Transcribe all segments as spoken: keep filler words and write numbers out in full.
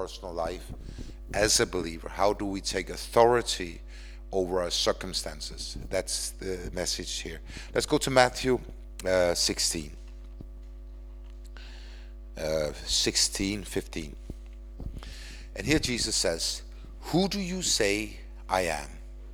personal life as a believer? How do we take authority over our circumstances? That's the message here. Let's go to Matthew uh, sixteen. Uh, sixteen, fifteen. And here Jesus says, "Who do you say I am?"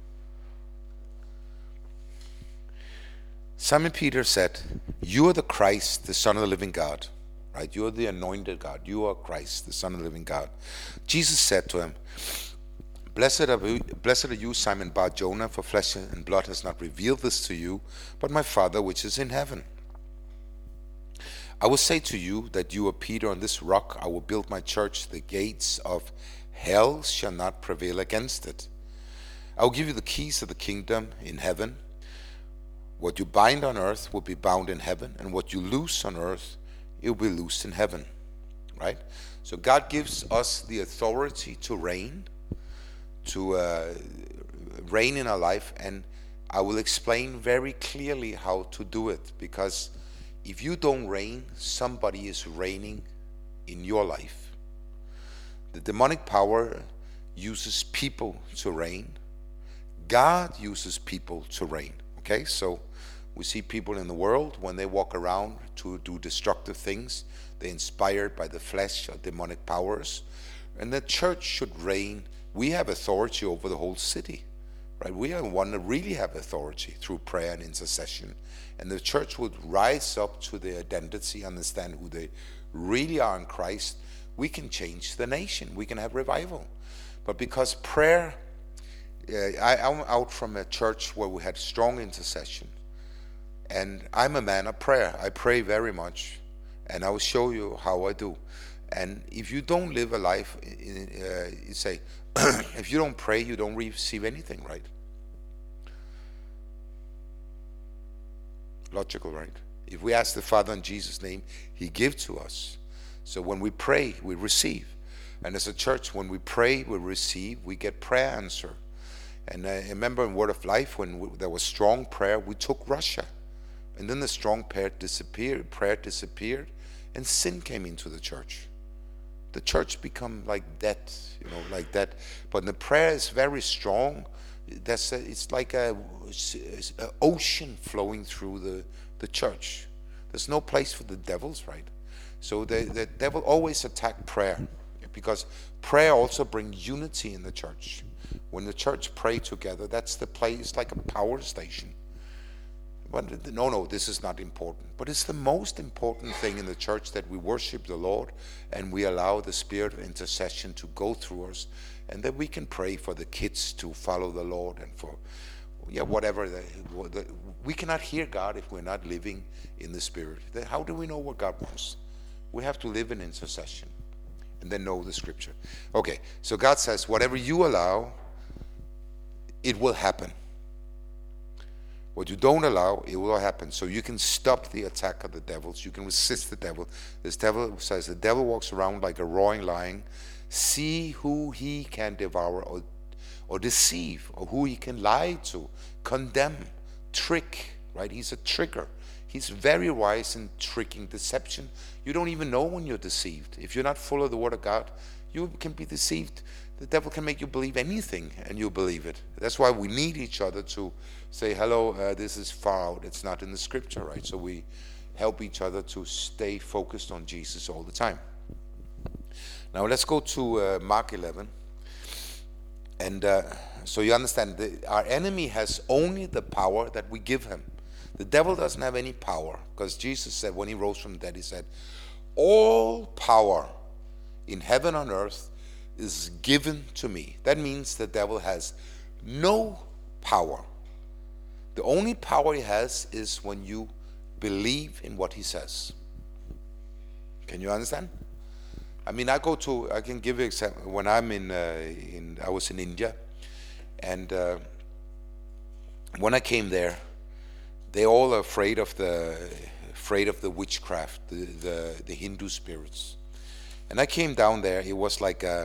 Simon Peter said, "You are the Christ, the Son of the living God." Right? You are the anointed God. You are Christ, the Son of the living God. Jesus said to him, Blessed are you, blessed are you, Simon Bar-Jonah, for flesh and blood has not revealed this to you, but my Father which is in heaven. I will say to you that you are Peter, on this rock I will build my church. The gates of hell shall not prevail against it. I will give you the keys of the kingdom in heaven. What you bind on earth will be bound in heaven, and what you loose on earth, it will be loosed in heaven. Right? So God gives us the authority to reign, to uh, reign in our life, and I will explain very clearly how to do it, because if you don't reign, somebody is reigning in your life. The demonic power uses people to reign. God uses people to reign. Okay, so we see people in the world, when they walk around to do destructive things, they're inspired by the flesh or demonic powers. And the church should reign. We have authority over the whole city, right? We are one that really have authority through prayer and intercession. And the church would rise up to their identity, understand who they really are in Christ. We can change the nation. We can have revival. But because prayer, uh, I, I'm out from a church where we had strong intercession. And I'm a man of prayer. I pray very much. And I will show you how I do. And if you don't live a life, uh, you say, if you don't pray, you don't receive anything, right? Logical, right? If we ask the Father in Jesus' name, He gives to us. So when we pray, we receive. And as a church, when we pray, we receive, we get prayer answer. And I remember in Word of Life, when we, there was strong prayer, we took Russia. And then the strong prayer disappeared, prayer disappeared, and sin came into the church. The church become like that, you know, like that. But the prayer is very strong. That's a, it's like a, a ocean flowing through the, the church. There's no place for the devils, right? So the, the devil always attack prayer, because prayer also brings unity in the church. When the church pray together, that's the place, like a power station. But no, no, this is not important. But it's the most important thing in the church, that we worship the Lord and we allow the spirit of intercession to go through us, and that we can pray for the kids to follow the Lord, and for, yeah, whatever. The, the, we cannot hear God if we're not living in the Spirit. How do we know what God wants? We have to live in intercession and then know the Scripture. Okay, so God says, whatever you allow, it will happen. What you don't allow, it will happen. So you can stop the attack of the devils. You can resist the devil. This devil says, the devil walks around like a roaring lion. See who he can devour or, or deceive, or who he can lie to, condemn, trick, right? He's a tricker. He's very wise in tricking, deception. You don't even know when you're deceived. If you're not full of the Word of God, you can be deceived. The devil can make you believe anything, and you believe it. That's why we need each other to say, hello, uh, this is far out. It's not in the Scripture, right? So we help each other to stay focused on Jesus all the time. Now let's go to uh, Mark eleven. And uh, so you understand, the, our enemy has only the power that we give him. The devil doesn't have any power, because Jesus said, when he rose from the dead, he said, all power in heaven and earth is given to me. That means the devil has no power. The only power he has is when you believe in what he says. Can you understand? I mean, I go to, I can give you an example. When I'm in, uh, in I was in India, and uh, when I came there, they're all afraid of the, afraid of the witchcraft, the, the, the Hindu spirits. And I came down there, it was like a,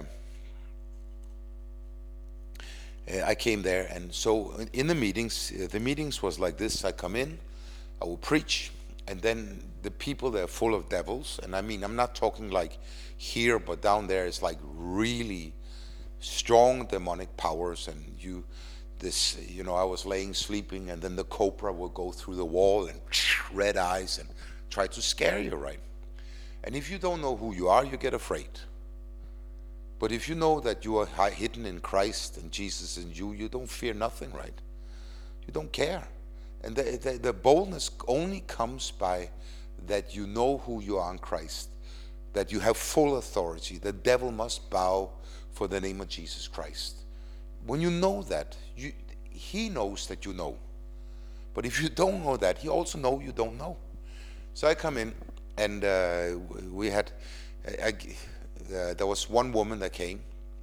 I came there, and so in the meetings, the meetings was like this. I come in, I will preach, and then the people, they're full of devils. And I mean, I'm not talking like here, but down there is like really strong demonic powers. And you, this, you know, I was laying sleeping, and then the cobra will go through the wall and red eyes and try to scare you, right? And if you don't know who you are, you get afraid. But if you know that you are hidden in Christ and Jesus in you, you don't fear nothing, right? You don't care. And the, the, the boldness only comes by that you know who you are in Christ, that you have full authority. The devil must bow for the name of Jesus Christ. When you know that, you, he knows that you know. But if you don't know that, he also knows you don't know. So I come in, and uh, we had... I, I, Uh, there was one woman that came.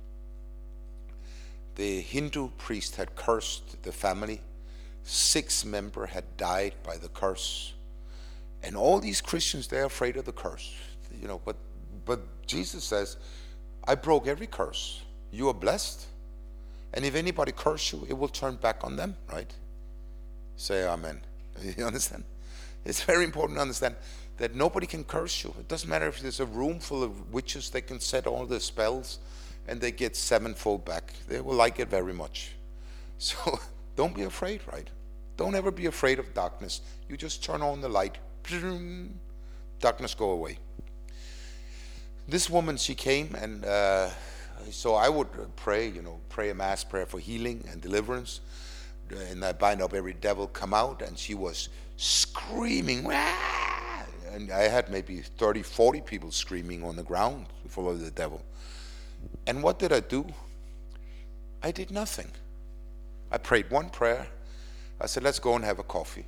The Hindu priest had cursed the family. Six members had died by the curse. And all these Christians, they're afraid of the curse. You know, but but Jesus says, I broke every curse. You are blessed. And if anybody curse you, it will turn back on them, right? Say amen. You understand? It's very important to understand that nobody can curse you. It doesn't matter if there's a room full of witches, they can set all the spells and they get sevenfold back. They will like it very much. So don't be afraid, right? Don't ever be afraid of darkness. You just turn on the light. Darkness go away. This woman, she came, and uh, so I would pray, you know, pray a mass prayer for healing and deliverance. And I bind up every devil, come out. And she was screaming. Wah! And I had maybe thirty, forty people screaming on the ground full of the devil. And what did I do? I did nothing. I prayed one prayer. I said, let's go and have a coffee.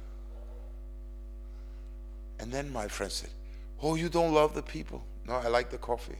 And then my friend said, oh, you don't love the people? No, I like the coffee.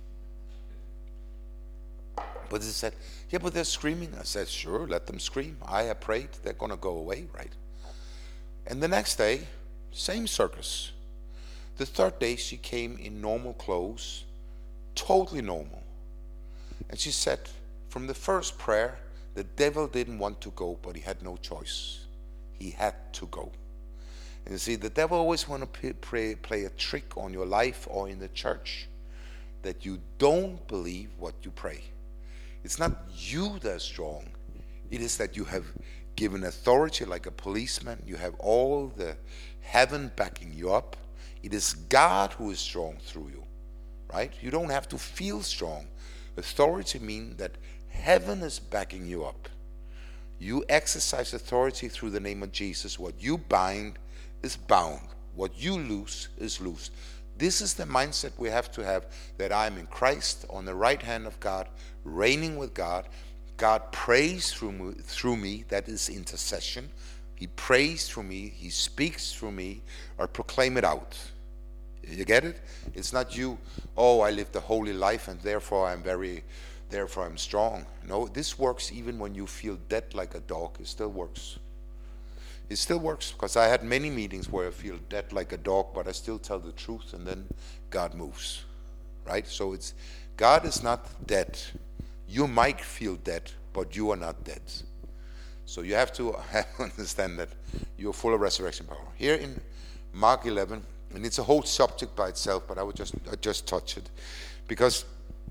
But he said, yeah, but they're screaming. I said, sure, let them scream. I have prayed. They're going to go away, right? And the next day, same circus. The third day, she came in normal clothes, totally normal. And she said, from the first prayer, the devil didn't want to go, but he had no choice. He had to go. And you see, the devil always want to play, play a trick on your life or in the church, that you don't believe what you pray. It's not you that's strong. It is that you have given authority like a policeman. You have all the heaven backing you up. It is God who is strong through you, right? You don't have to feel strong. Authority means that heaven is backing you up. You exercise authority through the name of Jesus. What you bind is bound. What you loose is loose. This is the mindset we have to have, that I'm in Christ on the right hand of God, reigning with God. God prays through me, through me. That is intercession. He prays through me. He speaks through me, or proclaim it out. You get it? It's not you, oh, I lived a holy life and therefore I'm very, therefore I'm strong. No, this works even when you feel dead like a dog. It still works. It still works, because I had many meetings where I feel dead like a dog, but I still tell the truth, and then God moves, right? So it's, God is not dead. You might feel dead, but you are not dead. So you have to understand that you're full of resurrection power. Here in Mark eleven, and it's a whole subject by itself, but I would just I just touch it, because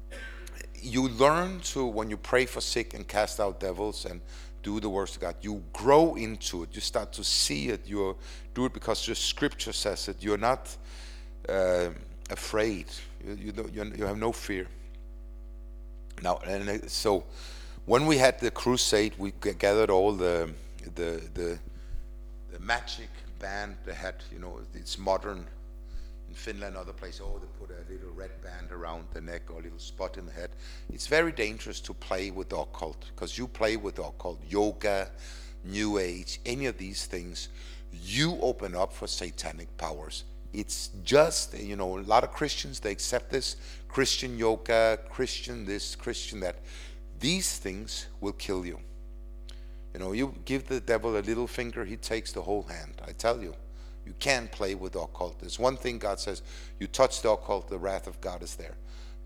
you learn to, when you pray for sick and cast out devils and do the works of God, you grow into it. You start to see it. You do it because the Scripture says it. You're not uh, afraid. You you, don't, you have no fear. Now, and so when we had the crusade, we gathered all the the the, the magic band. They had, you know, it's modern. In Finland, other places, oh, they put a little red band around the neck or a little spot in the head. It's very dangerous to play with the occult, because you play with the occult, yoga, New Age, any of these things, you open up for satanic powers. It's just, you know, a lot of Christians, they accept this, Christian yoga, Christian this, Christian that. These things will kill you. You know, you give the devil a little finger, he takes the whole hand. I tell you. You can't play with the occult. There's one thing God says, you touch the occult, the wrath of God is there.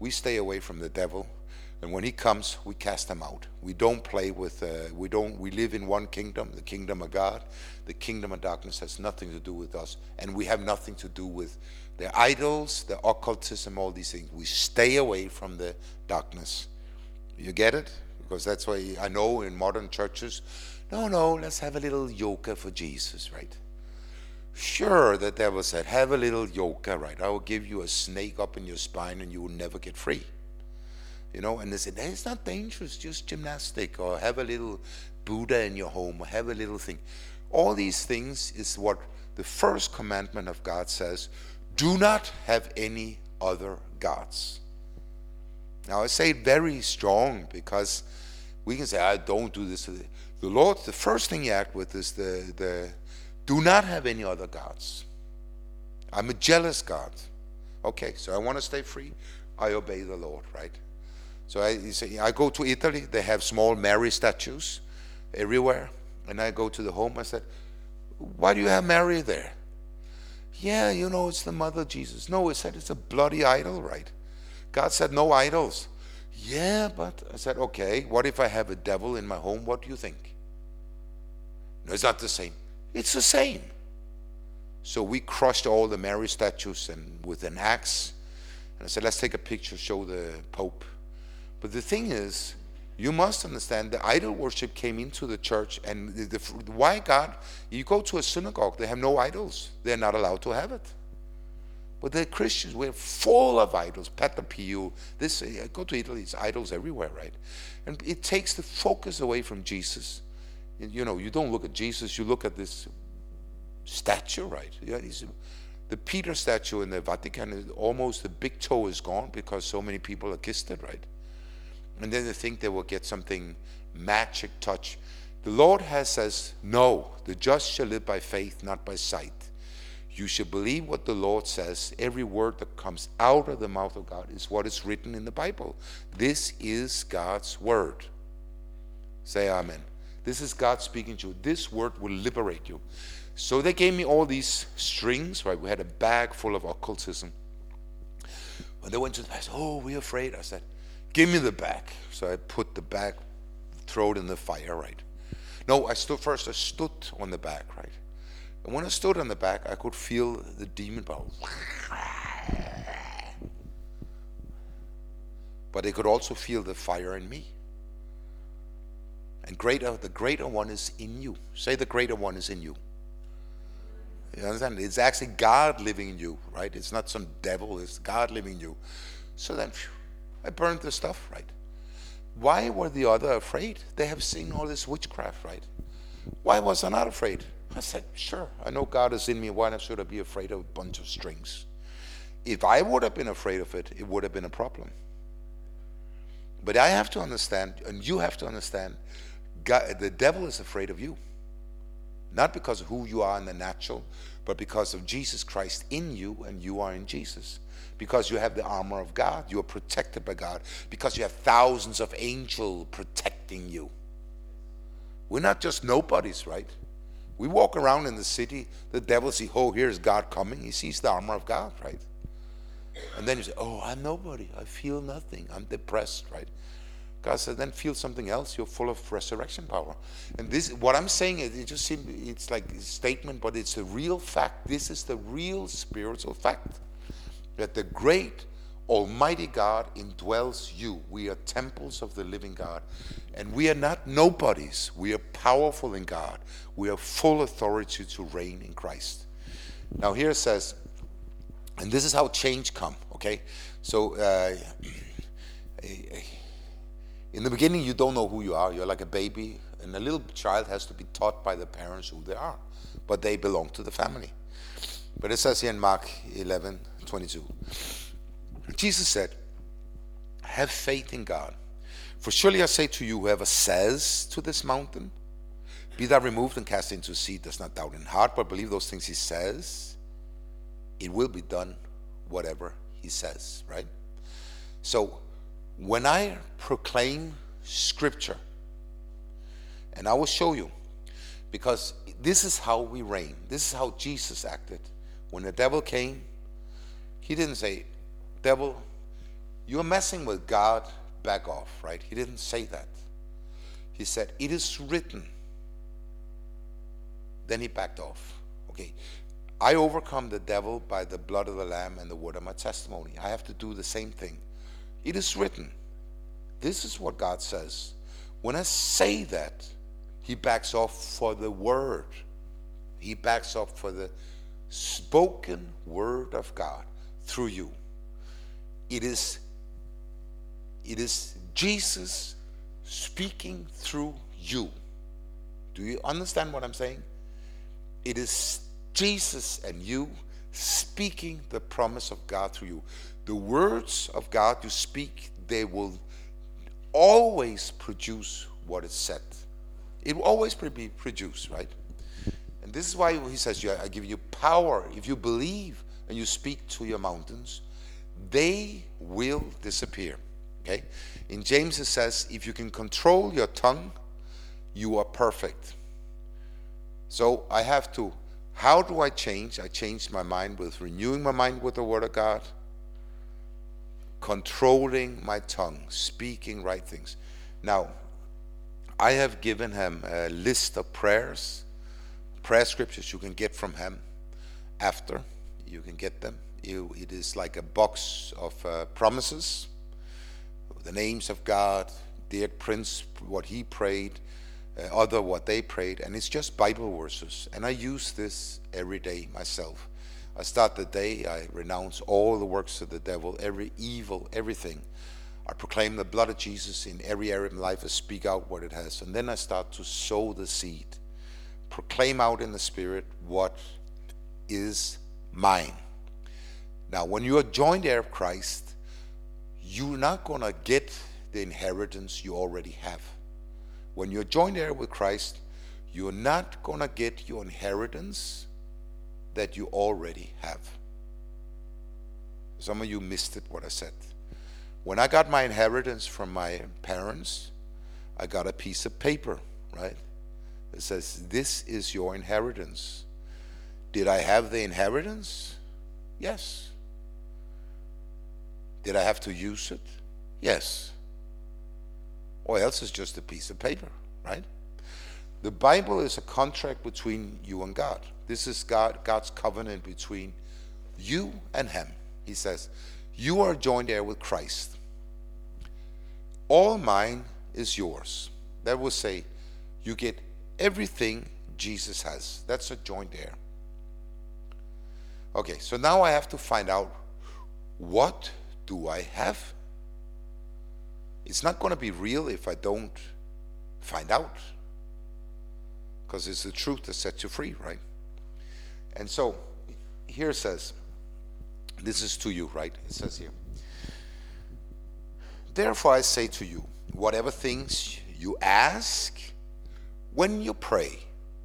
we stay away from the devil. And when he comes, we cast him out. We don't play with, uh, we don't, we live in one kingdom, the kingdom of God. The kingdom of darkness has nothing to do with us. And we have nothing to do with the idols, the occultism, all these things. We stay away from the darkness. You get it? Because that's why I know in modern churches, no, no, let's have a little yoga for Jesus, right? Sure, the devil said, have a little yoga, right? I will give you a snake up in your spine and you will never get free. You know, and they said, it's not dangerous, just gymnastic, or have a little Buddha in your home, or have a little thing. All these things is what the first commandment of God says, do not have any other gods. Now I say it very strong because we can say, I don't do this. The Lord, the first thing you act with is the, the do not have any other gods. I'm a jealous God. Okay, so I want to stay free. I obey the Lord, right? So I, say, I go to Italy, they have small Mary statues everywhere. And I go to the home, I said, why do you have Mary there? Yeah, you know, it's the mother of Jesus. No, it said it's a bloody idol, right? God said no idols. Yeah, but I said, okay, what if I have a devil in my home? What do you think? No, it's not the same. It's the same. So we crushed all the Mary statues and with an axe. And I said, let's take a picture, show the Pope. But the thing is, you must understand the idol worship came into the church, and the, the, why God, you go to a synagogue, they have no idols. They're not allowed to have it. But the Christians, we're full of idols. Peter Pio, this, I go to Italy, it's idols everywhere, right? And it takes the focus away from Jesus. You know, you don't look at Jesus, you look at this statue, right? Yeah, he's, the Peter statue in the Vatican, almost the big toe is gone because so many people have kissed it, right? And then they think they will get something magic touch. The Lord has says, no, the just shall live by faith, not by sight. You should believe what the Lord says. Every word that comes out of the mouth of God is what is written in the Bible. This is God's word. Say amen. This is God speaking to you. This word will liberate you. So they gave me all these strings, right? We had a bag full of occultism. When they went to the, I said, oh, we're afraid. I said, give me the bag. So I put the bag, throw it in the fire, right? No, I stood first, I stood on the bag, right? And when I stood on the back, I could feel the demon power. But they could also feel the fire in me. And greater, the greater one is in you. Say the greater one is in you. You understand? It's actually God living in you, right? It's not some devil, it's God living in you. So then, phew, I burned the stuff, right? Why were the other afraid? They have seen all this witchcraft, right? Why was I not afraid? I said, sure, I know God is in me. Why should I be afraid of a bunch of strings? If I would have been afraid of it, it would have been a problem. But I have to understand, and you have to understand, God, the devil is afraid of you. Not because of who you are in the natural, but because of Jesus Christ in you and you are in Jesus. Because you have the armor of God, you are protected by God. Because you have thousands of angels protecting you. We're not just nobodies, right? We walk around in the city, the devil sees, oh, here's God coming. He sees the armor of God, right? And then you say, oh, I'm nobody. I feel nothing. I'm depressed, right? God said, then feel something else. You're full of resurrection power. And this, what I'm saying, is, it just seems, it's like a statement, but it's a real fact. This is the real spiritual fact. That the great Almighty God indwells you. We are temples of the living God. And we are not nobodies. We are powerful in God. We have full authority to reign in Christ. Now here it says, and this is how change come, okay? So uh, in the beginning you don't know who you are. You're like a baby, and a little child has to be taught by the parents who they are. But they belong to the family. But it says here in Mark eleven twenty-two, Jesus said, have faith in God. For surely I say to you, whoever says to this mountain, be thou removed and cast into the sea, does not doubt in heart, but believe those things he says, it will be done whatever he says, right? So when I proclaim scripture, and I will show you, because this is how we reign. This is how Jesus acted. When the devil came, he didn't say, devil, You're messing with God, back off, right? He didn't say that. He said, it is written. Then he backed off. Okay. I overcome the devil by the blood of the Lamb and the word of my testimony. I have to do the same thing. It is written. This is what God says. When I say that, he backs off for the word. He backs off for the spoken word of God through you. It is, it is Jesus speaking through you. Do you understand what I'm saying? It is Jesus and you speaking the promise of God through you. The words of God you speak, they will always produce what is said. It will always be produced, right? And this is why he says, I give you power. If you believe and you speak to your mountains, they will disappear. Okay? In James it says, if you can control your tongue, you are perfect. So I have to, how do I change? I change my mind with renewing my mind with the Word of God, controlling my tongue, speaking right things. Now, I have given him a list of prayers, prayer scriptures you can get from him after. You can get them. You, it is like a box of uh, promises, the names of God, dear Prince, what he prayed, uh, other what they prayed, and it's just Bible verses. And I use this every day myself. I start the day, I renounce all the works of the devil, every evil, everything. I proclaim the blood of Jesus in every area of my life. I speak out what it has. And then I start to sow the seed. Proclaim out in the Spirit what is mine. Now, when you are joined heir of Christ, you're not going to get the inheritance you already have. When you're joined heir with Christ, you're not going to get your inheritance that you already have. Some of you missed it, what I said. When I got my inheritance from my parents, I got a piece of paper, right? It says, this is your inheritance. Did I have the inheritance? Yes. Did I have to use it? Yes. Or else it's just a piece of paper, right? The Bible is a contract between you and God. This is God, God's covenant between you and him. He says, you are joined heir with Christ. All mine is yours. That will say, you get everything Jesus has. That's a joint heir. Okay, so now I have to find out, what do I have? It's not going to be real if I don't find out, because it's the truth that sets you free, right? And so here it says, this is to you, right? It says here, therefore I say to you, whatever things you ask when you pray,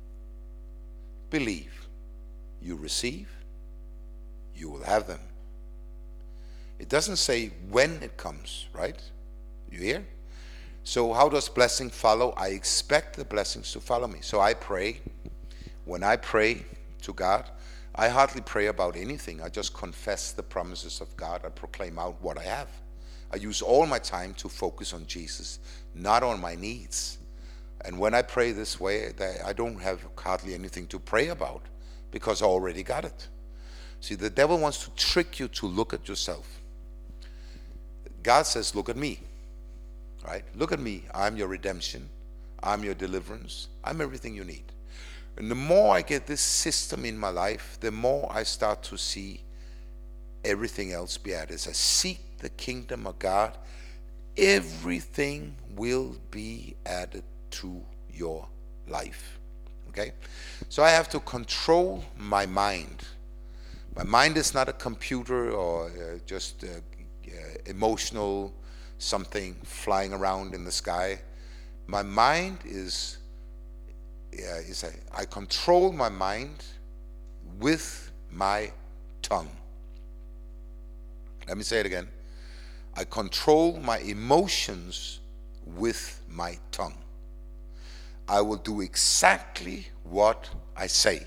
believe you receive, you will have them. It doesn't say when it comes, right? You hear? So how does blessing follow? I expect the blessings to follow me. So I pray. When I pray to God, I hardly pray about anything. I just confess the promises of God. I proclaim out what I have. I use all my time to focus on Jesus, not on my needs. And when I pray this way, I don't have hardly anything to pray about, because I already got it. See, the devil wants to trick you to look at yourself. God says, look at me, right? Look at me. I'm your redemption. I'm your deliverance. I'm everything you need. And the more I get this system in my life, the more I start to see everything else be added. As I seek the kingdom of God, everything will be added to your life. Okay? So I have to control my mind. My mind is not a computer or uh, just uh, uh, emotional something flying around in the sky. My mind is, uh, is a, I control my mind with my tongue. Let me say it again. I control my emotions with my tongue. I will do exactly what I say.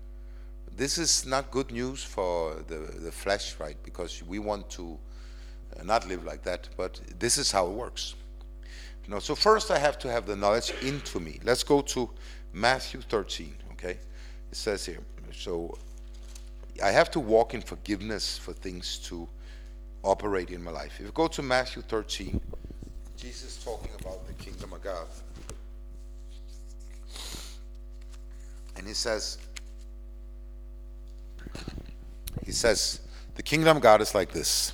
This is not good news for the, the flesh, right? Because we want to uh, uh, not live like that, but this is how it works. You know, so first I have to have the knowledge into me. Let's go to Matthew thirteen, okay? It says here, so I have to walk in forgiveness for things to operate in my life. If you go to Matthew thirteen, Jesus talking about the kingdom of God. And he says, he says, the kingdom of God is like this.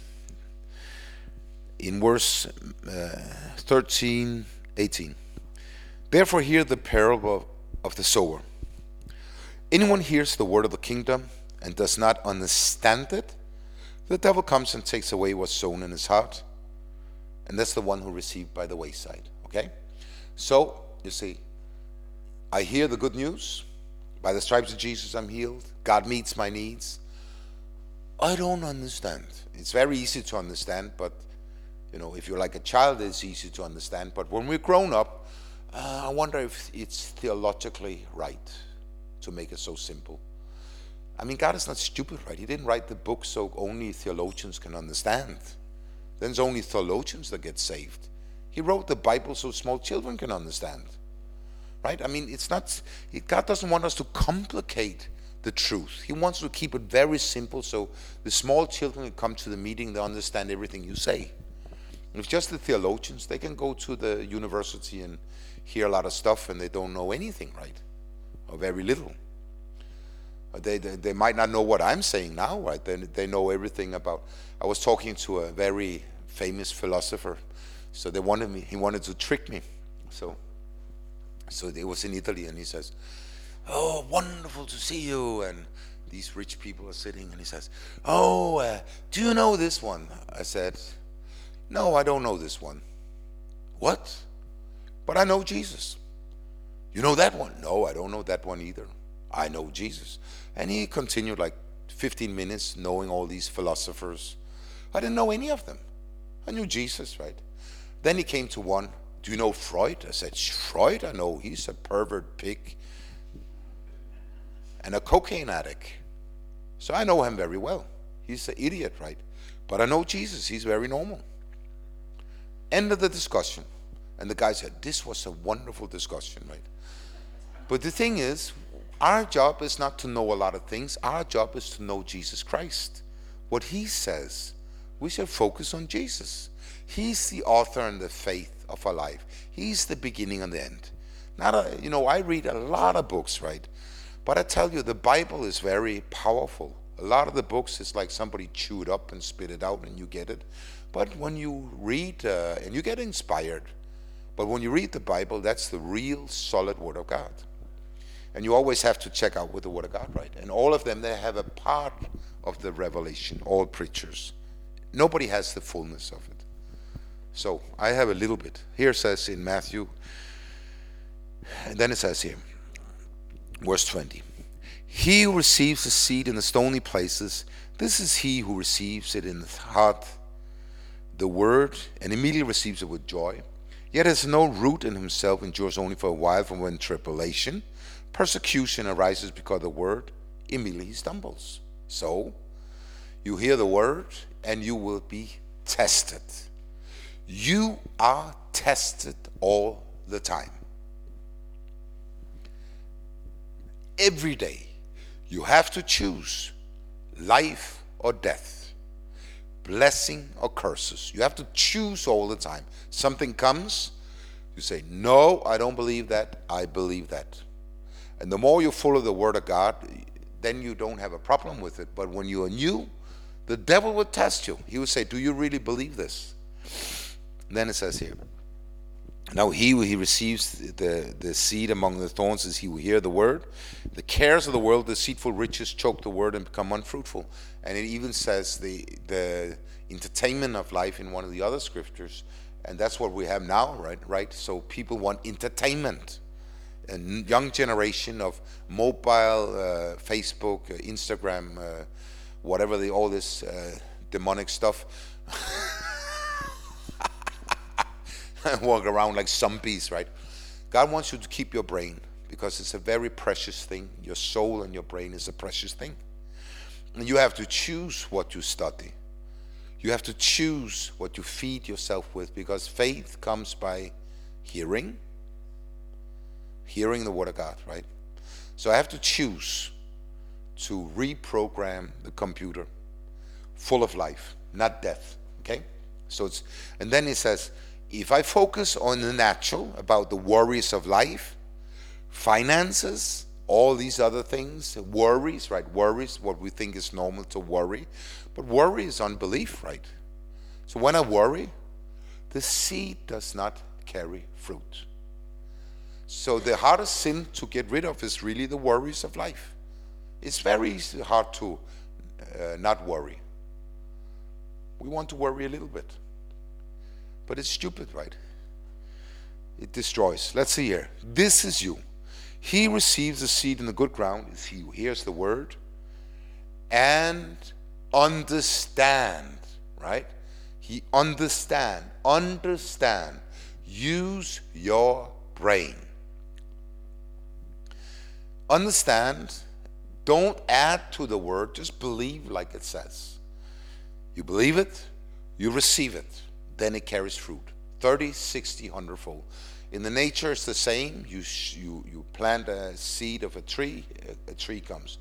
In verse uh, thirteen, eighteen. Therefore hear the parable of the sower. Anyone hears the word of the kingdom and does not understand it, the devil comes and takes away what's sown in his heart. And that's the one who received by the wayside. Okay? So, you see, I hear the good news. By the stripes of Jesus I'm healed. God meets my needs. I don't understand. It's very easy to understand, but you know, if you're like a child, it's easy to understand. But when we're grown up, uh, I wonder if it's theologically right to make it so simple. I mean, God is not stupid, right? He didn't write the book so only theologians can understand. Then it's only theologians that get saved. He wrote the Bible so small children can understand, right? I mean, it's not, God doesn't want us to complicate the truth. He wants to keep it very simple so the small children who come to the meeting, they understand everything you say. If just the theologians, they can go to the university and hear a lot of stuff and they don't know anything, right? Or very little. They, they, they might not know what I'm saying now, right? They, they know everything about, I was talking to a very famous philosopher, so they wanted me, he wanted to trick me. So, so it was in Italy and he says, oh, wonderful to see you. And these rich people are sitting and he says, oh, uh, do you know this one? I said, no, I don't know this one. What? But I know Jesus. You know that one? No, I don't know that one either. I know Jesus. And he continued like fifteen minutes knowing all these philosophers. I didn't know any of them. I knew Jesus, right? Then he came to one. Do you know Freud? I said, Freud? I know. He's a pervert pig and a cocaine addict. So I know him very well. He's an idiot, right? But I know Jesus. He's very normal. End of the discussion. And the guy said, this was a wonderful discussion, right? But the thing is, our job is not to know a lot of things. Our job is to know Jesus Christ. What he says, we should focus on Jesus. He's the author and the faith of our life. He's the beginning and the end. Not a, you know, I read a lot of books, right? But I tell you, the Bible is very powerful. A lot of the books is like somebody chewed up and spit it out and you get it. But when you read, uh, and you get inspired, but when you read the Bible, that's the real solid Word of God. And you always have to check out with the Word of God, right? And all of them, they have a part of the revelation, all preachers. Nobody has the fullness of it. So I have a little bit. Here it says in Matthew, and then it says here, verse twenty, he who receives the seed in the stony places, this is he who receives it in the heart, the word, and immediately receives it with joy. Yet has no root in himself, endures only for a while, from when tribulation, persecution arises because of the word, immediately he stumbles. So, you hear the word and you will be tested. You are tested all the time. Every day, you have to choose life or death, blessing or curses. You have to choose all the time. Something comes, you say, no, I don't believe that, I believe that. And the more you follow the Word of God, then you don't have a problem with it. But when you are new, the devil will test you. He will say, do you really believe this? And then it says here, now he who he receives the, the seed among the thorns is he who hear the word. The cares of the world, deceitful riches, choke the word and become unfruitful. And it even says the, the entertainment of life in one of the other scriptures. And that's what we have now, right? Right. So people want entertainment. A young generation of mobile, uh, Facebook, uh, Instagram, uh, whatever the all this uh, demonic stuff. Walk around like zombies, right? God wants you to keep your brain because it's a very precious thing. Your soul and your brain is a precious thing. And you have to choose what you study. You have to choose what you feed yourself with, because faith comes by hearing, hearing the word of God, right? So I have to choose to reprogram the computer full of life, not death, okay? So it's, and then he says, if I focus on the natural, about the worries of life, finances, all these other things, worries, right? Worries, what we think is normal to worry. But worry is unbelief, right? So when I worry, the seed does not carry fruit. So the hardest sin to get rid of is really the worries of life. It's very hard to uh, not worry. We want to worry a little bit. But it's stupid, right? It destroys. Let's see here. This is you. He receives the seed in the good ground. Is he who hears the word and understand, right? He understand. Understand. Use your brain. Understand. Don't add to the word. Just believe like it says. You believe it, you receive it, then it carries fruit. thirty, sixty, one hundred fold. In the nature, it's the same. You, you, you plant a seed of a tree, a, a tree comes.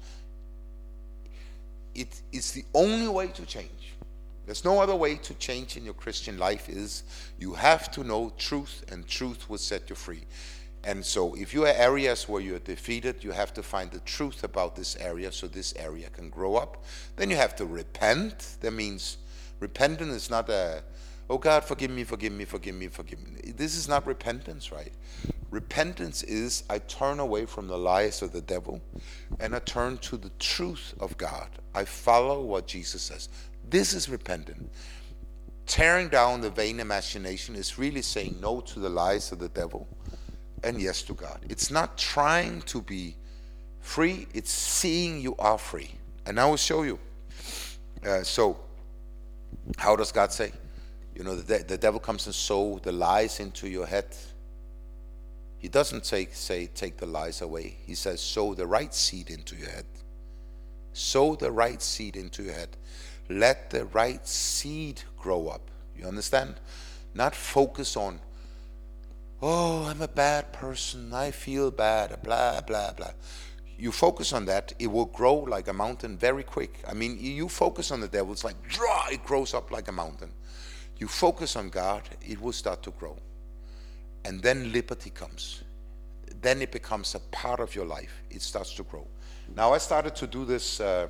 It, it's the only way to change. There's no other way to change in your Christian life. Is you have to know truth, and truth will set you free. And so if you have areas where you're defeated, you have to find the truth about this area so this area can grow up. Then you have to repent. That means repentance is not a, oh God, forgive me, forgive me, forgive me, forgive me. This is not repentance, right? Repentance is I turn away from the lies of the devil and I turn to the truth of God. I follow what Jesus says. This is repentance. Tearing down the vain imagination is really saying no to the lies of the devil and yes to God. It's not trying to be free, it's seeing you are free. And I will show you. Uh, so, how does God say? You know, the, de- the devil comes and sow the lies into your head. He doesn't take, say, take the lies away. He says, sow the right seed into your head. Sow the right seed into your head. Let the right seed grow up. You understand? Not focus on, oh, I'm a bad person, I feel bad, blah, blah, blah. You focus on that, it will grow like a mountain very quick. I mean, you focus on the devil, it's like, draw, it grows up like a mountain. You focus on God, it will start to grow. And then liberty comes. Then it becomes a part of your life. It starts to grow. Now, I started to do this, uh,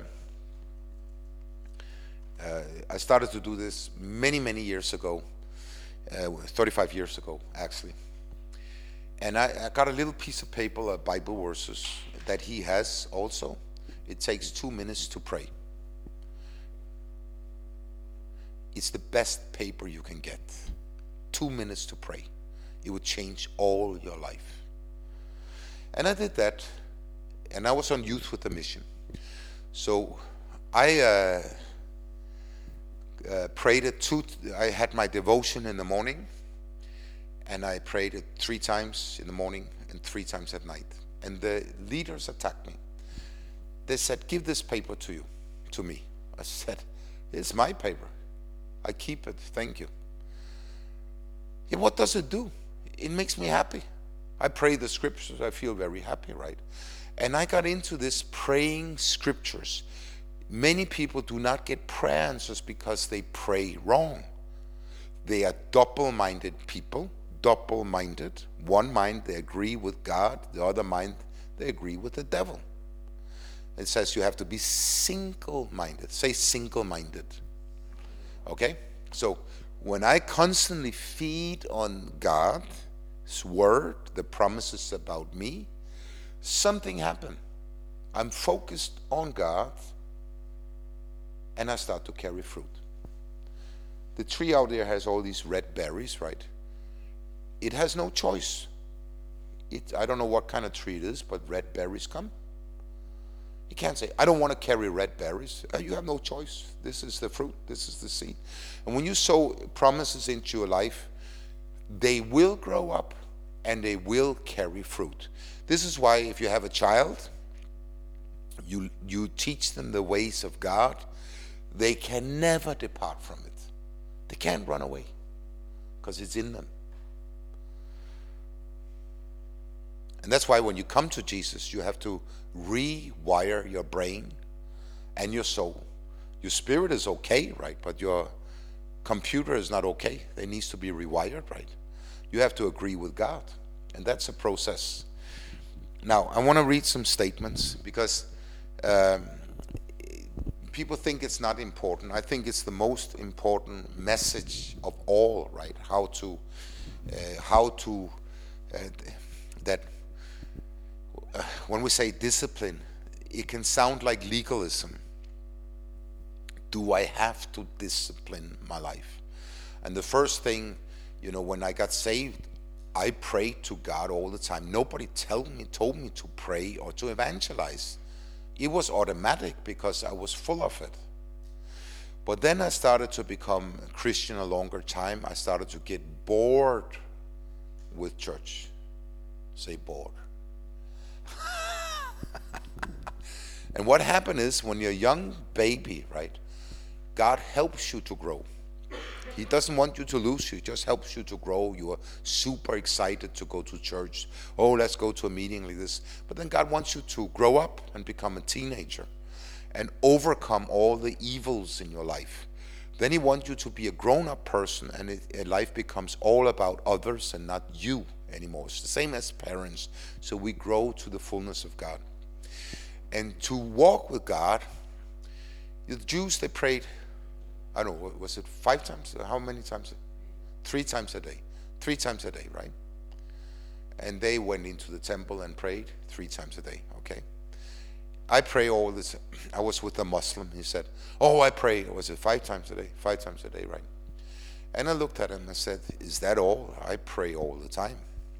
uh, I started to do this many, many years ago, uh, thirty-five years ago, actually. And I, I got a little piece of paper, uh, Bible verses that he has also. It takes two minutes to pray. It's the best paper you can get. Two minutes to pray. It would change all your life. And I did that, and I was on Youth with a Mission. So I uh, uh, prayed it two, I had my devotion in the morning, and I prayed it three times in the morning and three times at night. And the leaders attacked me. They said, give this paper to you, to me. I said, it's my paper. I keep it, thank you. Yeah, what does it do? It makes me happy. I pray the scriptures, I feel very happy, right? And I got into this praying scriptures. Many people do not get prayer answers because they pray wrong. They are double-minded people, double-minded. One mind, they agree with God. The other mind, they agree with the devil. It says you have to be single-minded. Say single-minded. Okay? So when I constantly feed on God's word, the promises about me, something happened. I'm focused on God, and I start to carry fruit. The tree out there has all these red berries, right? It has no choice. It, I don't know what kind of tree it is, but red berries come. You can't say, I don't want to carry red berries. Uh, you have no choice. This is the fruit. This is the seed. And when you sow promises into your life, they will grow up and they will carry fruit. This is why if you have a child, you, you teach them the ways of God, they can never depart from it. They can't run away because it's in them. And that's why when you come to Jesus, you have to rewire your brain and your soul. Your spirit is okay, right? But your computer is not okay. It needs to be rewired, right? You have to agree with God. And that's a process. Now, I want to read some statements because um, people think it's not important. I think it's the most important message of all, right? How to, uh, how to, uh, that uh, when we say discipline, it can sound like legalism. Do I have to discipline my life? And the first thing, you know, when I got saved, I prayed to God all the time. Nobody told me, told me to pray or to evangelize. It was automatic because I was full of it. But then I started to become a Christian a longer time. I started to get bored with church. Say bored. And what happened is when you're a young baby, right, God helps you to grow. He doesn't want you to lose you. He just helps you to grow. You are super excited to go to church. Oh, let's go to a meeting like this. But then God wants you to grow up and become a teenager and overcome all the evils in your life. Then he wants you to be a grown-up person, and it, and life becomes all about others and not you anymore. It's the same as parents. So we grow to the fullness of God. And to walk with God, the Jews, they prayed, I don't know, was it five times? How many times? Three times a day. Three times a day, right? And they went into the temple and prayed three times a day, okay? I pray all this. I was with a Muslim. He said, oh, I pray. Was it five times a day? Five times a day, right? And I looked at him and I said, is that all? I pray all the time.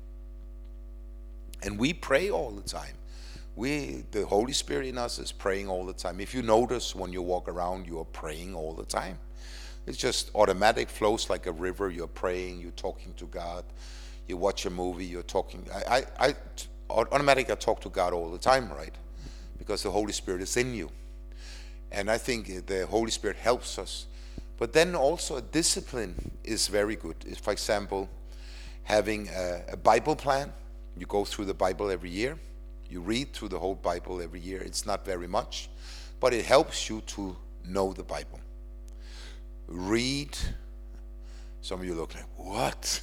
And we pray all the time. We, the Holy Spirit in us is praying all the time. If you notice when you walk around, you are praying all the time. It's just automatic, flows like a river. You're praying, you're talking to God. You watch a movie, you're talking. I, I, I automatically I talk to God all the time, right? Because the Holy Spirit is in you. And I think the Holy Spirit helps us. But then also a discipline is very good. It's, for example, having a, a Bible plan. You go through the Bible every year. You read through the whole Bible every year. It's not very much, but it helps you to know the Bible. Read. Some of you look like, what?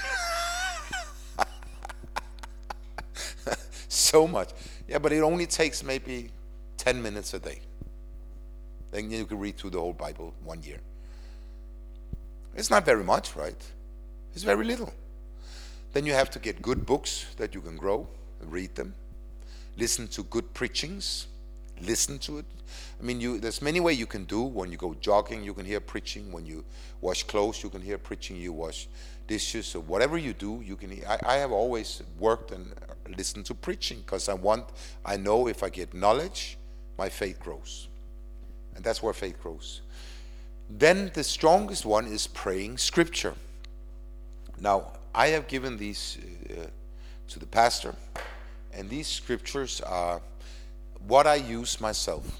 So much. Yeah, but it only takes maybe ten minutes a day. Then you can read through the whole Bible one year. It's not very much, right? It's very little. Then you have to get good books that you can grow, read them. Listen to good preachings. Listen to it. I mean, you, there's many ways you can do. When you go jogging, you can hear preaching. When you wash clothes, you can hear preaching. You wash dishes or whatever you do, you can hear. I, I have always worked and listened to preaching because I want, I know if I get knowledge, my faith grows. And that's where faith grows. Then the strongest one is praying scripture. Now, I have given these uh, to the pastor. And these scriptures are what I use myself.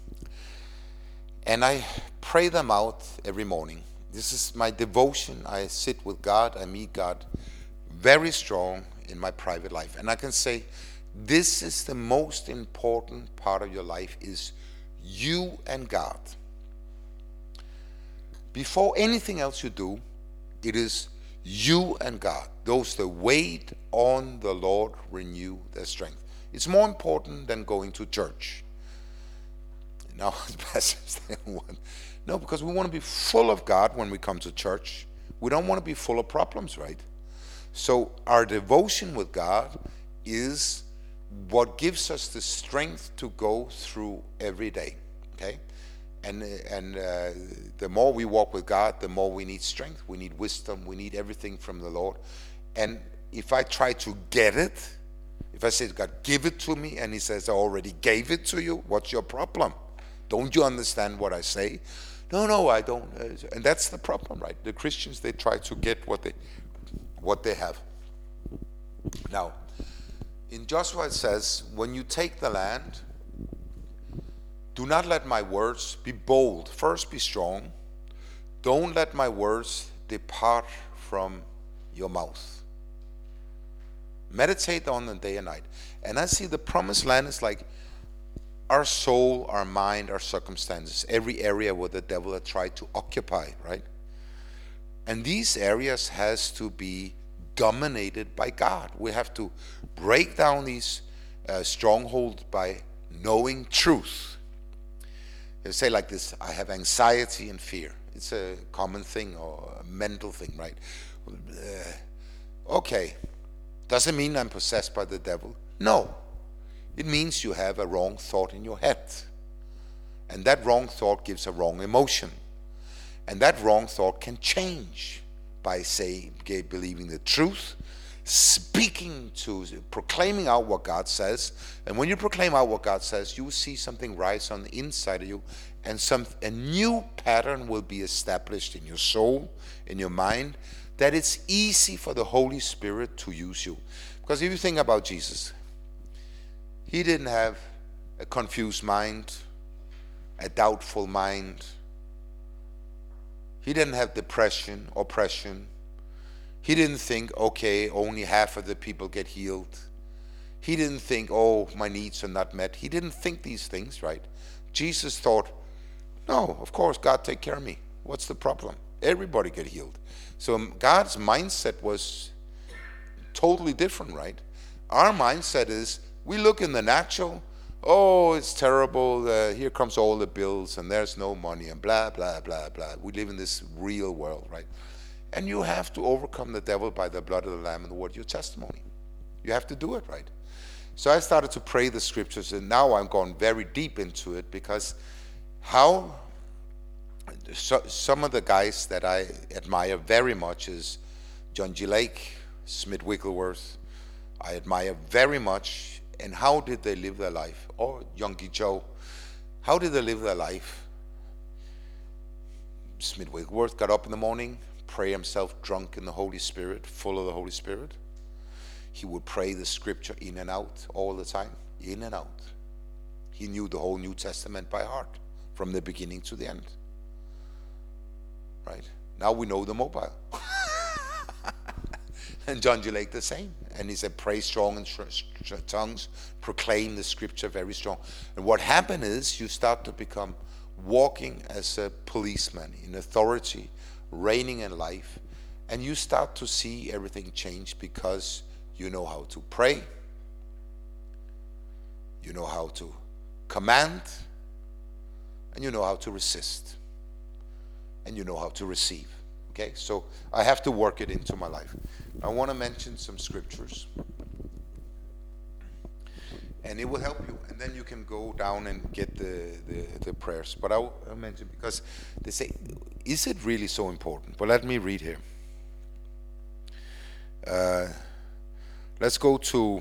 And I pray them out every morning. This is my devotion. I sit with God. I meet God very strong in my private life. And I can say, this is the most important part of your life is you and God. Before anything else you do, it is you and God. Those that wait on the Lord renew their strength. It's more important than going to church. Now, pastors, they want, no, because we want to be full of God when we come to church. We don't want to be full of problems, right? So our devotion with God is what gives us the strength to go through every day, okay? And, and uh, the more we walk with God, the more we need strength. We need wisdom. We need everything from the Lord. And if I try to get it, if I say, God, give it to me, and he says, I already gave it to you, what's your problem? Don't you understand what I say? No, no, I don't. And that's the problem, right? The Christians, they try to get what they, what they have. Now, in Joshua it says, when you take the land, do not let my words be bold. First be strong. don't let my words depart from your mouth. Meditate on them day and night. And I see the promised land is like our soul, our mind, our circumstances, every area where the devil had tried to occupy, right? And these areas has to be dominated by God. We have to break down these uh, strongholds by knowing truth. They say like this, I have anxiety and fear. It's a common thing or a mental thing, right? Uh, okay, does it mean I'm possessed by the devil? No. It means you have a wrong thought in your head. And that wrong thought gives a wrong emotion. And that wrong thought can change by saying, believing the truth, speaking to, proclaiming out what God says. And when you proclaim out what God says, you will see something rise on the inside of you, and some a new pattern will be established in your soul, in your mind, that it's easy for the Holy Spirit to use you. Because if you think about Jesus, he didn't have a confused mind, a doubtful mind. He didn't have depression, oppression. He didn't think, okay, only half of the people get healed. He didn't think, oh, my needs are not met. He didn't think these things, right? Jesus thought, no, of course, God take care of me. What's the problem? Everybody get healed. So God's mindset was totally different, right? Our mindset is, we look in the natural, oh, it's terrible, uh, here comes all the bills, and there's no money, and blah, blah, blah, blah. We live in this real world, right? And you have to overcome the devil by the blood of the Lamb and the word of your testimony. You have to do it, right? So I started to pray the scriptures, and now I'm going very deep into it, because how so, some of the guys that I admire very much is John G. Lake, Smith Wigglesworth, I admire very much. And how did they live their life? Or Yonggi Cho, how did they live their life? Smith Wigglesworth got up in the morning, pray himself drunk in the Holy Spirit, full of the Holy Spirit. He would pray the scripture in and out all the time, in and out. He knew the whole New Testament by heart, from the beginning to the end. Right? Now we know the mobile. And John G. Lake the same. And he said, pray strong in tongues, proclaim the scripture very strong. And what happened is you start to become walking as a policeman in authority, reigning in life, and you start to see everything change because you know how to pray, you know how to command, and you know how to resist, and you know how to receive. Okay, so I have to work it into my life. I want to mention some scriptures, and it will help you, and then you can go down and get the, the, the prayers. But I'll, I'll mention, because they say, is it really so important? But let me read here. Uh, let's go to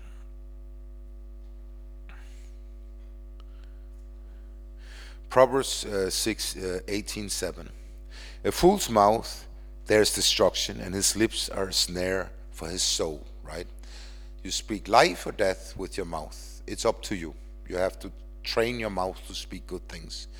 Proverbs uh, six, uh, eighteen, seven. A fool's mouth, there's destruction, and his lips are a snare for his soul, right? You speak life or death with your mouth. It's up to you. You have to train your mouth to speak good things.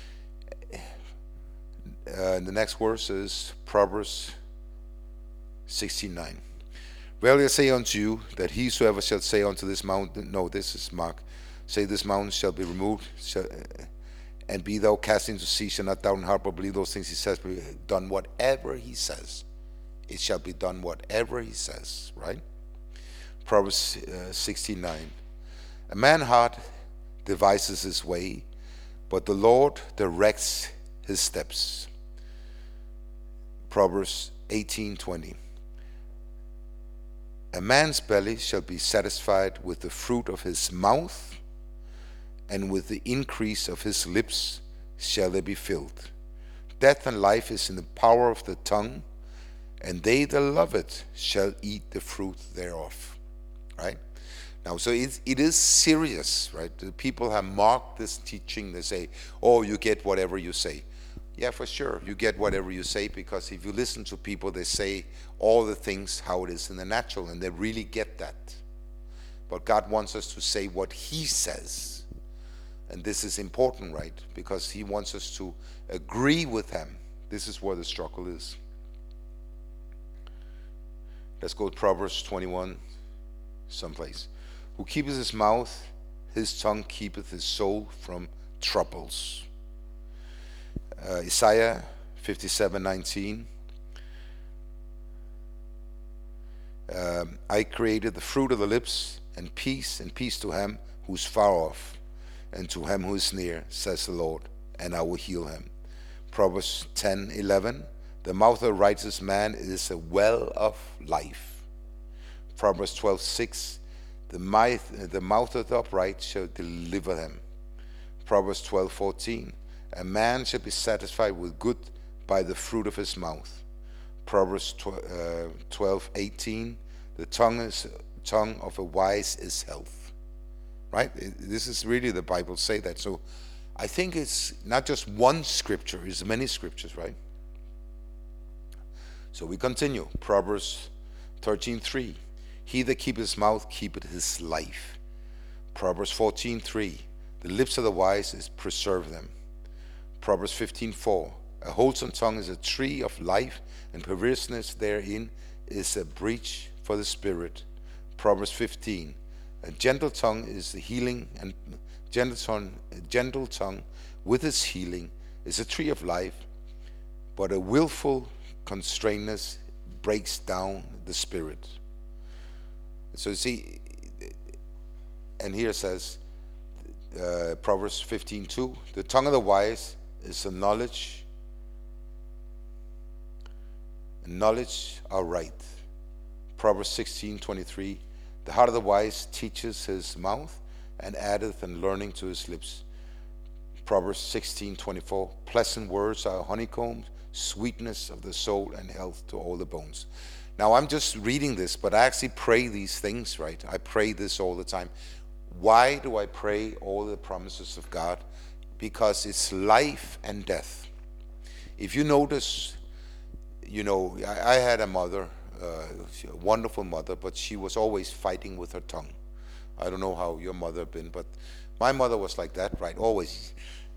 Uh, the next verse is Proverbs sixteen, nine. Verily I say unto you, that whosoever shall say unto this mountain, no, this is Mark, say this mountain shall be removed, shall, and be thou cast into sea, shall not doubt in heart, but believe those things he says, be done whatever he says. It shall be done whatever he says, right? Proverbs uh, sixteen, nine. A man's heart devises his way, but the Lord directs his steps. Proverbs eighteen, twenty. A man's belly shall be satisfied with the fruit of his mouth, and with the increase of his lips shall they be filled. Death and life is in the power of the tongue, and they that love it shall eat the fruit thereof. Right? Now, so it, it is serious, right? The people have marked this teaching. They say, oh, you get whatever you say. Yeah, for sure, you get whatever you say, because if you listen to people, they say all the things how it is in the natural, and they really get that. But God wants us to say what he says. And this is important, right? Because he wants us to agree with him, This is where the struggle is. Let's go to Proverbs twenty-one, someplace. Who keepeth his mouth, his tongue keepeth his soul from troubles. Uh, Isaiah fifty-seven nineteen. Um, I created the fruit of the lips, and peace, and peace to him who's far off, and to him who is near, says the Lord, and I will heal him. Proverbs ten eleven. The mouth of a righteous man is a well of life. Proverbs twelve six. The mouth, the mouth of the upright shall deliver them. Proverbs twelve fourteen. A man shall be satisfied with good by the fruit of his mouth. Proverbs twelve eighteen. The tongue is tongue of a wise is health. Right? This is really the Bible say that. So I think it's not just one scripture, it's many scriptures, right? So we continue. Proverbs thirteen three. He that keepeth his mouth keepeth his life. Proverbs fourteen three. The lips of the wise is preserve them. Proverbs fifteen four. A wholesome tongue is a tree of life, and perverseness therein is a breach for the spirit. Proverbs fifteen. A gentle tongue is the healing, and gentle tongue, a gentle tongue with its healing is a tree of life, but a willful constrainedness breaks down the spirit. So you see, and here it says, uh, Proverbs fifteen two, the tongue of the wise is a knowledge, and knowledge are right. Proverbs sixteen twenty-three, the heart of the wise teaches his mouth, and addeth and learning to his lips. Proverbs sixteen twenty-four, pleasant words are honeycomb, sweetness of the soul, and health to all the bones. Now I'm just reading this, but I actually pray these things, right? I pray this all the time. Why do I pray all the promises of God? Because it's life and death. If you notice, you know, I, I had a mother, uh, a wonderful mother, but she was always fighting with her tongue. I don't know how your mother been, but my mother was like that, right? Always.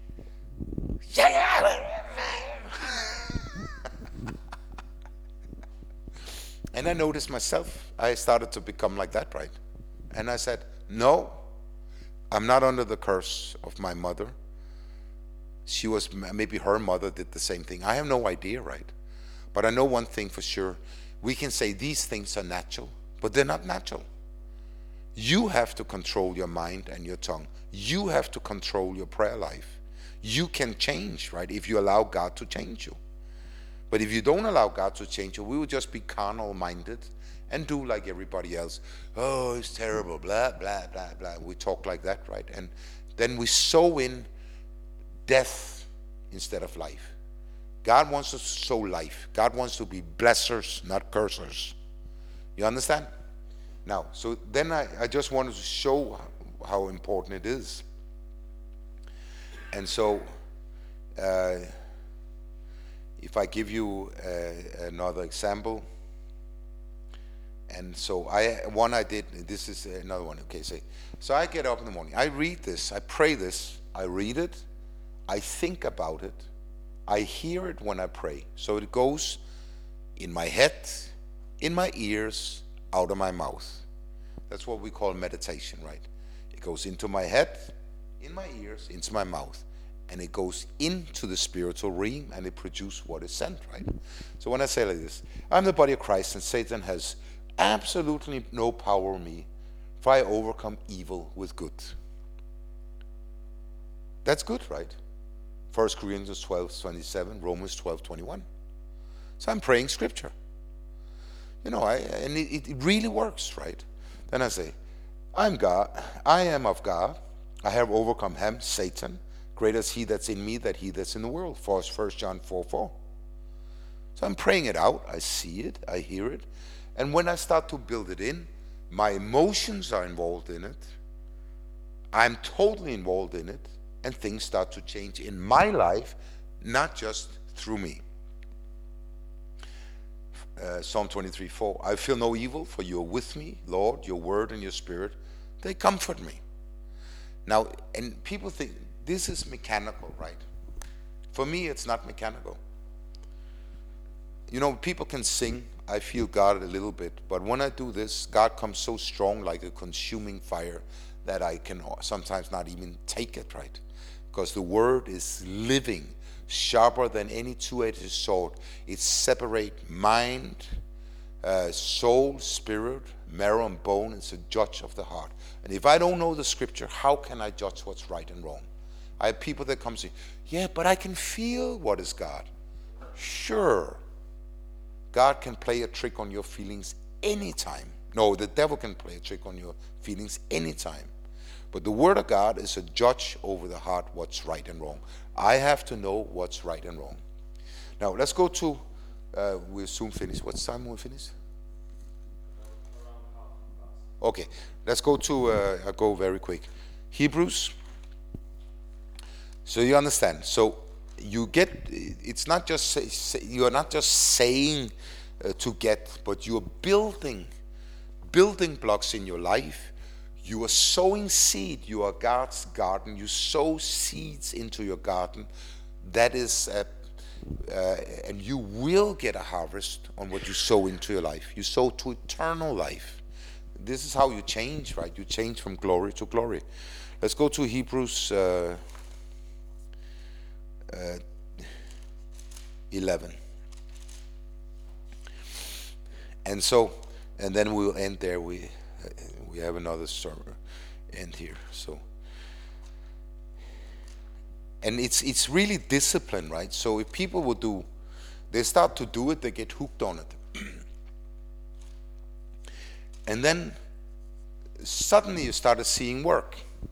And I noticed myself, I started to become like that, right? And I said, no, I'm not under the curse of my mother. She was, maybe her mother did the same thing. I have no idea, right? But I know one thing for sure. We can say these things are natural, but they're not natural. You have to control your mind and your tongue. You have to control your prayer life. You can change, right, if you allow God to change you. But if you don't allow God to change you, we will just be carnal minded and do like everybody else. Oh, it's terrible, blah, blah, blah, blah. We talk like that, right? And then we sow in death instead of life. God wants us to sow life. God wants to be blessers, not cursers. You understand? Now, so then I, I just wanted to show how important it is. And so, uh, if I give you uh, another example, and so I one I did, this is another one, okay, say, so I get up in the morning, I read this, I pray this, I read it, I think about it, I hear it when I pray. So it goes in my head, in my ears, out of my mouth. That's what we call meditation, right? It goes into my head, in my ears, into my mouth. And it goes into the spiritual realm, and it produces what is sent, right? So when I say like this, I'm the body of Christ, and Satan has absolutely no power over me, for I overcome evil with good. That's good, right? First Corinthians twelve twenty-seven, Romans twelve twenty-one. So I'm praying scripture. You know, I, and it, it really works, right? Then I say, I'm God, I am of God, I have overcome him, Satan. Greater is he that's in me than he that's in the world. First John four four. So I'm praying it out. I see it. I hear it. And when I start to build it in, my emotions are involved in it. I'm totally involved in it. And things start to change in my life, not just through me. Uh, Psalm twenty-three four. I feel no evil, for you are with me, Lord. Your word and your spirit, they comfort me. Now, and people think, this is mechanical, right? For me, it's not mechanical. you know, people can sing, I feel God a little bit, but when I do this, God comes so strong like a consuming fire that I can sometimes not even take it, right? Because the word is living, sharper than any two-edged sword. It separates mind, uh, soul, spirit, marrow and bone. It's a judge of the heart. And if I don't know the scripture, how can I judge what's right and wrong? I have people that come and say, yeah, but I can feel what is God. Sure. God can play a trick on your feelings anytime. No, the devil can play a trick on your feelings anytime. But the word of God is a judge over the heart, what's right and wrong. I have to know what's right and wrong. Now, let's go to, uh, we'll soon finish. What time will we finish? Okay, let's go to, uh, I'll go very quick. Hebrews. So you understand. So you get, it's not just, say, say, you are not just saying uh, to get, but you are building, building blocks in your life. You are sowing seed. You are God's garden. You sow seeds into your garden. That is, uh, uh, and you will get a harvest on what you sow into your life. You sow to eternal life. This is how you change, right? You change from glory to glory. Let's go to Hebrews uh, uh, eleven. And so, and then we will end there. We uh, we have another sermon end here. So, and it's it's really discipline, right? So if people will do, they start to do it, they get hooked on it, and then suddenly you started seeing work.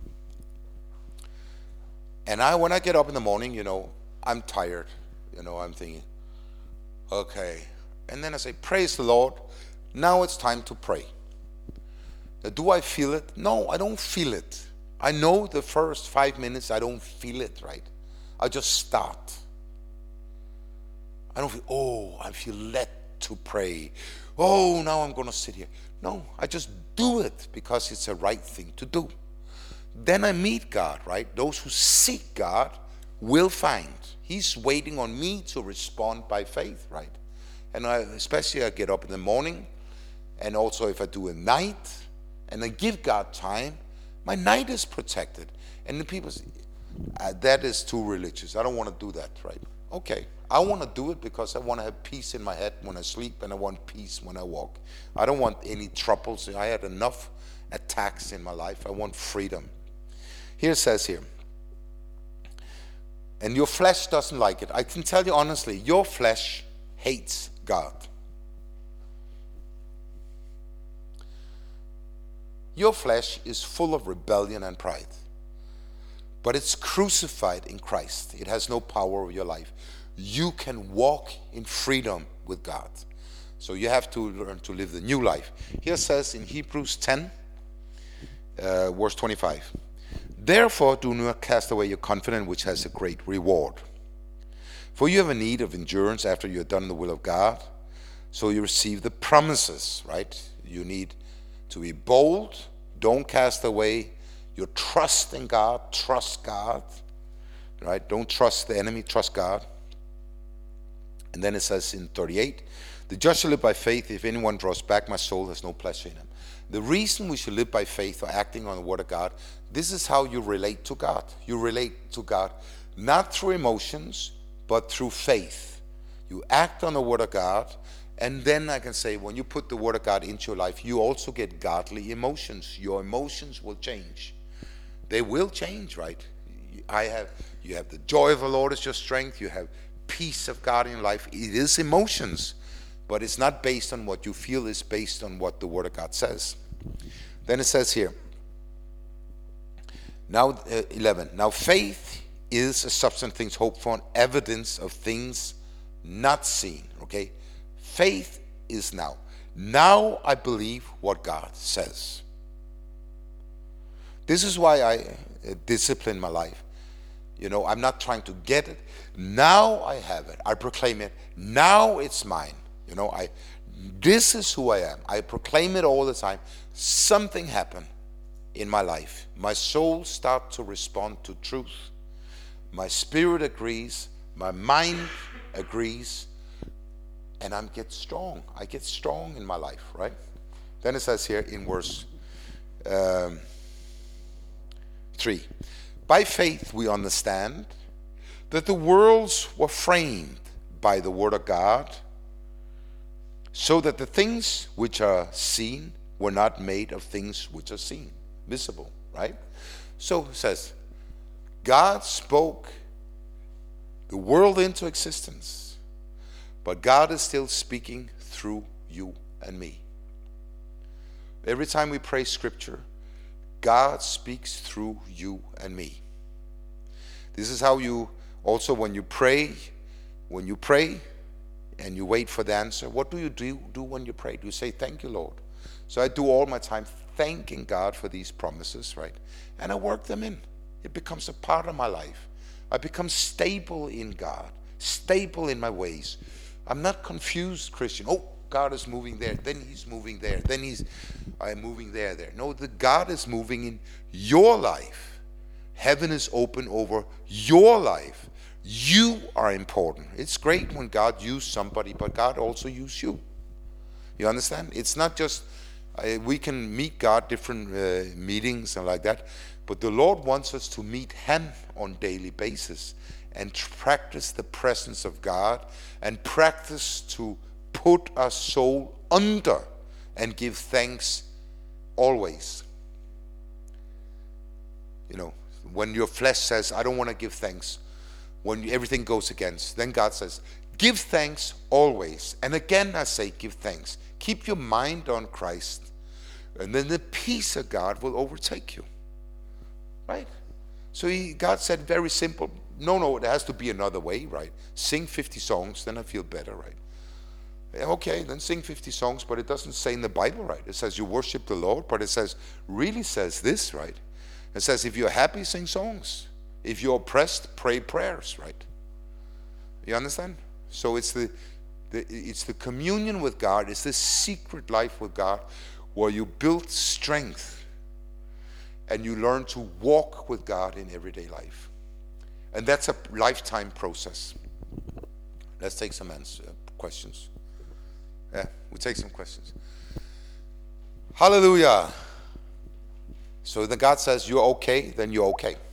And I, when I get up in the morning, you know, I'm tired. You know, I'm thinking, okay. And then I say, praise the Lord. Now it's time to pray. Now, do I feel it? No, I don't feel it. I know the first five minutes I don't feel it, right? I just start. I don't feel, oh, I feel led to pray. Oh, now I'm going to sit here. No, I just do it because it's a right thing to do. Then I meet God, right? Those who seek God will find. He's waiting on me to respond by faith, right? And I, especially I get up in the morning, and also if I do a night, and I give God time, my night is protected. And the people say, uh, that is too religious. I don't want to do that, right? Okay, I want to do it because I want to have peace in my head when I sleep, and I want peace when I walk. I don't want any troubles. I had enough attacks in my life. I want freedom. Here it says here, and your flesh doesn't like it. I can tell you honestly, your flesh hates God. Your flesh is full of rebellion and pride, but it's crucified in Christ. It has no power over your life. You can walk in freedom with God. So you have to learn to live the new life. Here it says in Hebrews ten, uh, verse twenty-five, therefore do not cast away your confidence, which has a great reward. For you have a need of endurance after you have done the will of God, so you receive the promises, right? You need to be bold. Don't cast away your trust in God. Trust God, right? Don't trust the enemy. Trust God. And then it says in thirty-eight, the just shall live by faith. If anyone draws back, my soul has no pleasure in him. The reason we should live by faith or acting on the word of God, this is how you relate to God. You relate to God not through emotions, but through faith. You act on the word of God, and then I can say, when you put the word of God into your life, you also get godly emotions. Your emotions will change. They will change, right? I have, you have the joy of the Lord is your strength. You have peace of God in your life. It is emotions, but it's not based on what you feel. It's based on what the word of God says. Then it says here, now uh, eleven, now faith is a substance of things hoped for, and evidence of things not seen. Okay, faith is now. Now I believe what God says. This is why I uh, discipline my life. You know, I'm not trying to get it. Now I have it. I proclaim it. Now it's mine. You know, I. This is who I am. I proclaim it all the time. Something happened in my life. My soul starts to respond to truth. My spirit agrees. My mind agrees. and I get strong. I get strong in my life, right? Then it says here in verse um, three, by faith we understand that the worlds were framed by the word of God, so that the things which are seen were not made of things which are seen, visible, right? So it says, God spoke the world into existence, but God is still speaking through you and me. Every time we pray scripture, God speaks through you and me. This is how you also, when you pray, when you pray and you wait for the answer, what do you do, do when you pray? Do you say, thank you, Lord? So I do all my time thanking God for these promises, right? And I work them in. It becomes a part of my life. I become stable in God, stable in my ways. I'm not confused Christian. Oh, God is moving there, then he's moving there, then he's I'm moving there, there. No, the God is moving in your life. Heaven is open over your life. You are important. It's great when God used somebody, but God also used you. You understand? It's not just, uh, we can meet God different uh, meetings and like that, but the Lord wants us to meet him on daily basis and practice the presence of God and practice to put our soul under and give thanks always. You know, when your flesh says, I don't want to give thanks, when everything goes against, then God says, give thanks always. And again I say, give thanks. Keep your mind on Christ, and then the peace of God will overtake you. Right? So he, God said very simple, no, no, it has to be another way, right? Sing fifty songs, then I feel better, right? Okay, then sing fifty songs, but it doesn't say in the Bible, right? It says you worship the Lord, but it says, really says this, right? It says if you're happy, sing songs. If you're oppressed, pray prayers, right? You understand? So it's the, the it's the communion with God, it's the secret life with God, where you build strength and you learn to walk with God in everyday life. And that's a lifetime process. Let's take some answer, questions. Yeah, we'll take some questions. Hallelujah. So then God says, you're okay, then you're okay.